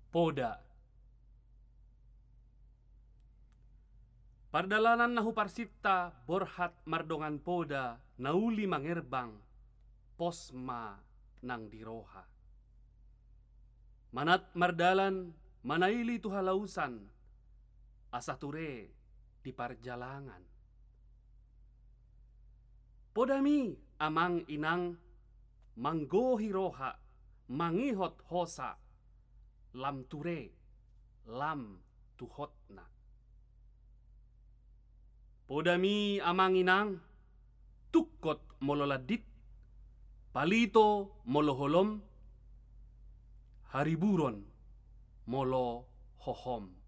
Poda. Pardalanan nahu parsitta borhat mardongan poda nauli mangerbang posma nang diroha. Manat mardalan manaili tu halausan asa ture di parjalangan. Podami amang inang manggohi roha mangihot hosa lam ture lam tuhotna. Podami amang inang tukkot mololadit palito moloholom hariburon molo hohom.